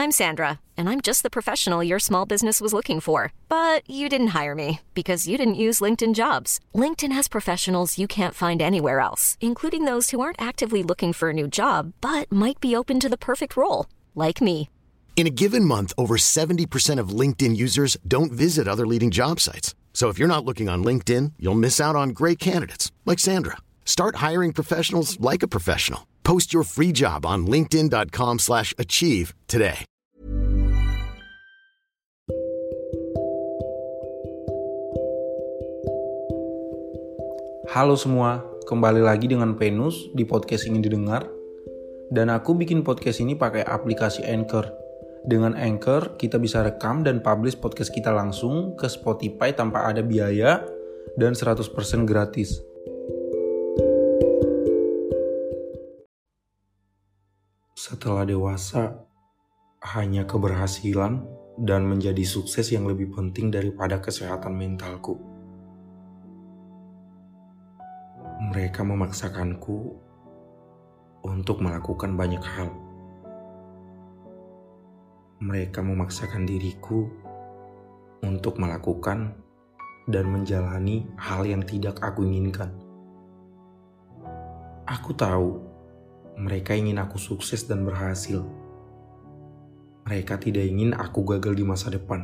I'm Sandra, and I'm just the professional your small business was looking for. But you didn't hire me because you didn't use LinkedIn Jobs. LinkedIn has professionals you can't find anywhere else, including those who aren't actively looking for a new job, but might be open to the perfect role, like me. In a given month, over 70% of LinkedIn users don't visit other leading job sites. So if you're not looking on LinkedIn, you'll miss out on great candidates like Sandra. Start hiring professionals like a professional. Post your free job on linkedin.com/achieve today. Halo semua, kembali lagi dengan Penus di podcast Ingin Didengar. Dan aku bikin podcast ini pakai aplikasi Anchor. Dengan Anchor, kita bisa rekam dan publish podcast kita langsung ke Spotify tanpa ada biaya dan 100% gratis. Setelah dewasa, hanya keberhasilan dan menjadi sukses yang lebih penting daripada kesehatan mentalku. Mereka memaksakanku untuk melakukan banyak hal. Mereka memaksakan diriku untuk melakukan dan menjalani hal yang tidak aku inginkan. Aku tahu mereka ingin aku sukses dan berhasil. Mereka tidak ingin aku gagal di masa depan.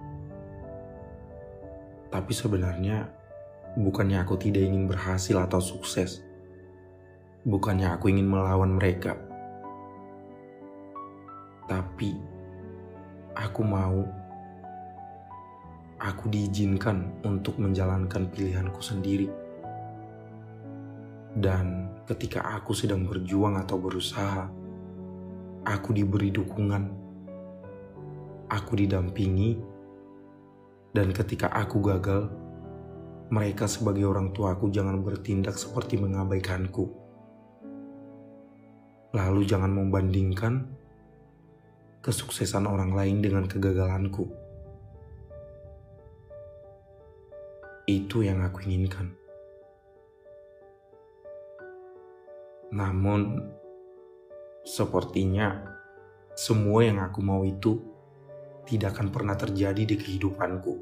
Tapi sebenarnya, bukannya aku tidak ingin berhasil atau sukses. Bukannya aku ingin melawan mereka. Tapi aku diizinkan untuk menjalankan pilihanku sendiri. Dan ketika aku sedang berjuang atau berusaha, aku diberi dukungan, aku didampingi, dan ketika aku gagal, mereka sebagai orang tuaku jangan bertindak seperti mengabaikanku. Lalu jangan membandingkan kesuksesan orang lain dengan kegagalanku. Itu yang aku inginkan. Namun, sepertinya semua yang aku mau itu tidak akan pernah terjadi di kehidupanku.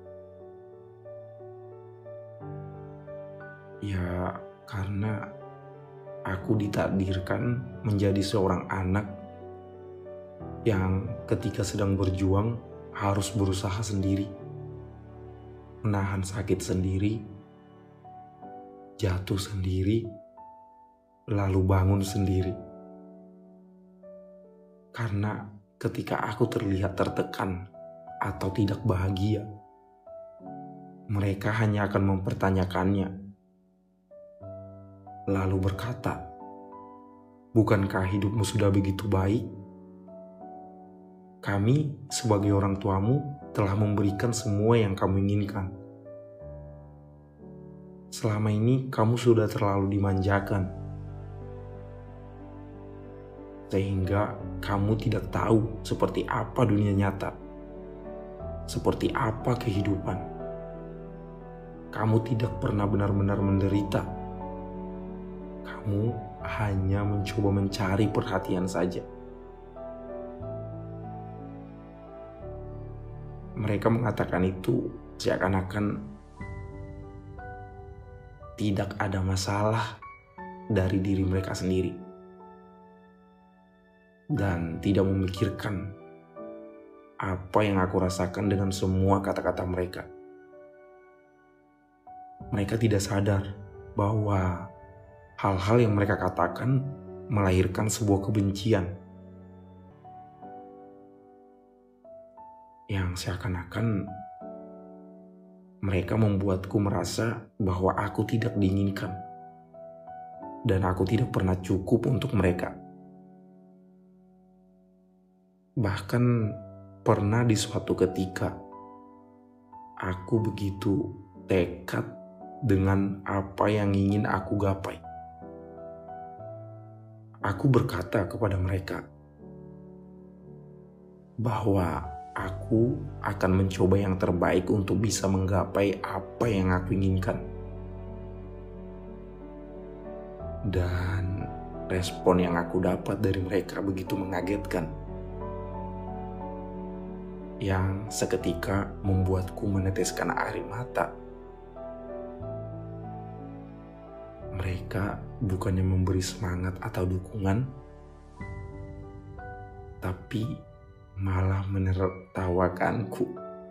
Ya, karena aku ditakdirkan menjadi seorang anak yang ketika sedang berjuang harus berusaha sendiri, menahan sakit sendiri, jatuh sendiri, lalu bangun sendiri. Karena ketika aku terlihat tertekan atau tidak bahagia, mereka hanya akan mempertanyakannya, lalu berkata, "Bukankah hidupmu sudah begitu baik? Kami sebagai orang tuamu telah memberikan semua yang kamu inginkan. Selama ini kamu sudah terlalu dimanjakan, sehingga kamu tidak tahu seperti apa dunia nyata, seperti apa kehidupan. Kamu tidak pernah benar-benar menderita. Kamu hanya mencoba mencari perhatian saja." Mereka mengatakan itu seakan-akan tidak ada masalah dari diri mereka sendiri. Dan tidak memikirkan apa yang aku rasakan dengan semua kata-kata mereka. Mereka tidak sadar bahwa hal-hal yang mereka katakan melahirkan sebuah kebencian yang seakan-akan mereka membuatku merasa bahwa aku tidak diinginkan dan aku tidak pernah cukup untuk mereka. Bahkan pernah di suatu ketika aku begitu tekad dengan apa yang ingin aku gapai. Aku berkata kepada mereka bahwa aku akan mencoba yang terbaik untuk bisa menggapai apa yang aku inginkan. Dan respon yang aku dapat dari mereka begitu mengagetkan. yang seketika membuatku meneteskan air mata. Mereka bukannya memberi semangat atau dukungan, tapi malah menertawakanku.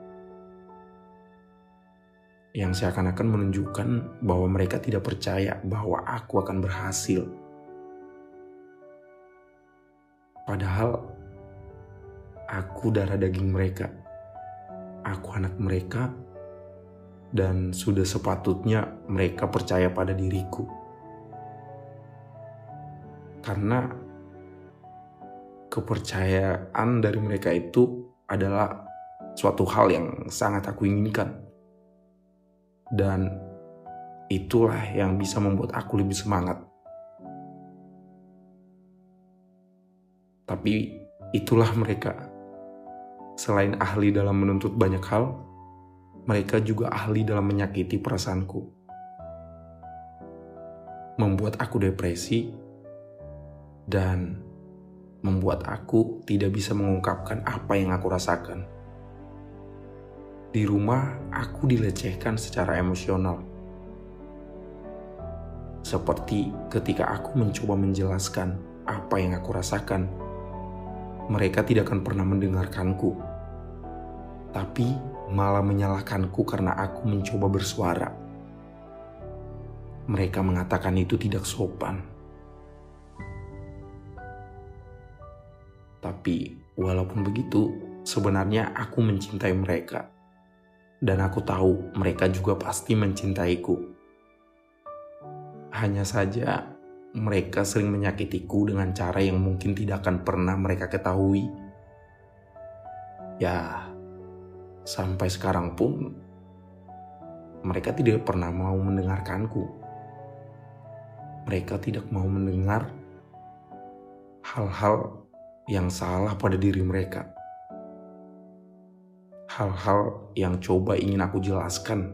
Yang seakan-akan menunjukkan bahwa mereka tidak percaya bahwa aku akan berhasil. Padahal aku darah daging mereka, aku anak mereka, dan sudah sepatutnya mereka percaya pada diriku. Karena kepercayaan dari mereka itu adalah suatu hal yang sangat aku inginkan. Dan itulah yang bisa membuat aku lebih semangat. Tapi itulah mereka. Selain ahli dalam menuntut banyak hal, mereka juga ahli dalam menyakiti perasaanku. Membuat aku depresi dan membuat aku tidak bisa mengungkapkan apa yang aku rasakan. Di rumah, aku dilecehkan secara emosional. Seperti ketika aku mencoba menjelaskan apa yang aku rasakan, mereka tidak akan pernah mendengarkanku, tapi malah menyalahkanku karena aku mencoba bersuara. Mereka mengatakan itu tidak sopan. Tapi walaupun begitu, sebenarnya aku mencintai mereka. Dan aku tahu mereka juga pasti mencintaiku. Hanya saja mereka sering menyakitiku dengan cara yang mungkin tidak akan pernah mereka ketahui. Ya, sampai sekarang pun mereka tidak pernah mau mendengarkanku. Mereka tidak mau mendengar hal-hal yang salah pada diri mereka. Hal-hal yang coba ingin aku jelaskan.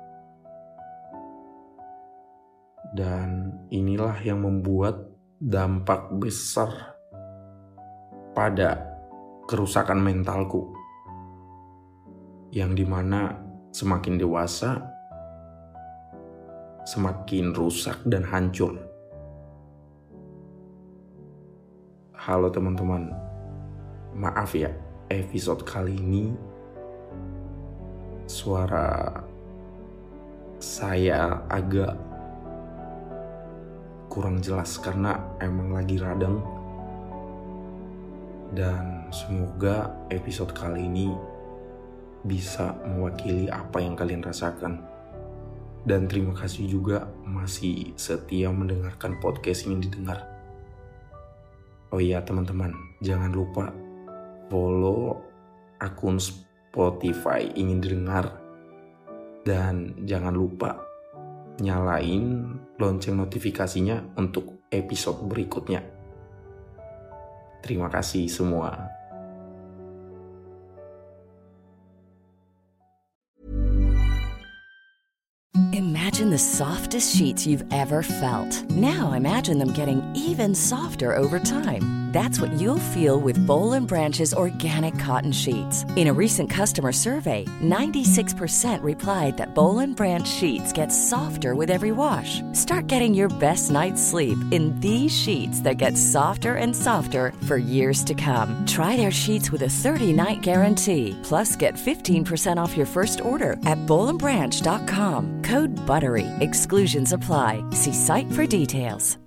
Dan inilah yang membuat dampak besar pada kerusakan mentalku. Yang dimana semakin dewasa, semakin rusak dan hancur. Halo teman-teman, maaf ya, episode kali ini suara saya agak kurang jelas karena emang lagi radang. Dan semoga episode kali ini bisa mewakili apa yang kalian rasakan. Dan terima kasih juga masih setia mendengarkan podcast ini didengar. Oh iya teman-teman, jangan lupa follow akun Spotify ingin didengar. Dan jangan lupa nyalain lonceng notifikasinya untuk episode berikutnya. Terima kasih semua. Imagine the softest sheets you've ever felt. Now imagine them getting even softer over time. That's what you'll feel with Boll & Branch's organic cotton sheets. In a recent customer survey, 96% replied that Boll & Branch sheets get softer with every wash. Start getting your best night's sleep in these sheets that get softer and softer for years to come. Try their sheets with a 30-night guarantee. Plus, get 15% off your first order at bollandbranch.com. Code BUTTERY. Exclusions apply. See site for details.